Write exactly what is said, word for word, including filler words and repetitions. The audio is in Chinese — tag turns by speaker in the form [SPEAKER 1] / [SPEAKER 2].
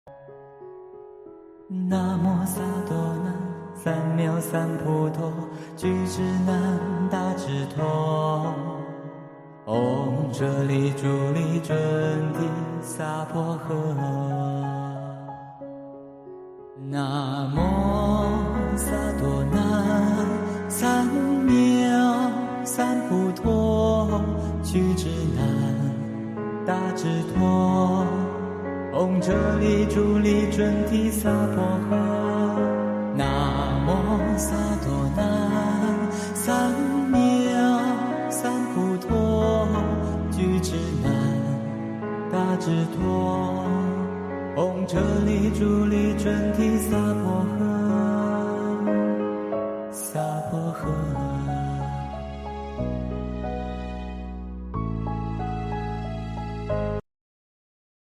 [SPEAKER 1] 南无萨多南，三藐三菩提，具智难，大智陀。唵哲利主利准提萨婆诃。南无萨多南，三藐三菩提，具智难，大智陀。唵哲利主利准提萨婆诃。南无萨多南，三藐三菩提，具智难，大智陀。唵哲利主利准提萨婆诃。萨婆诃。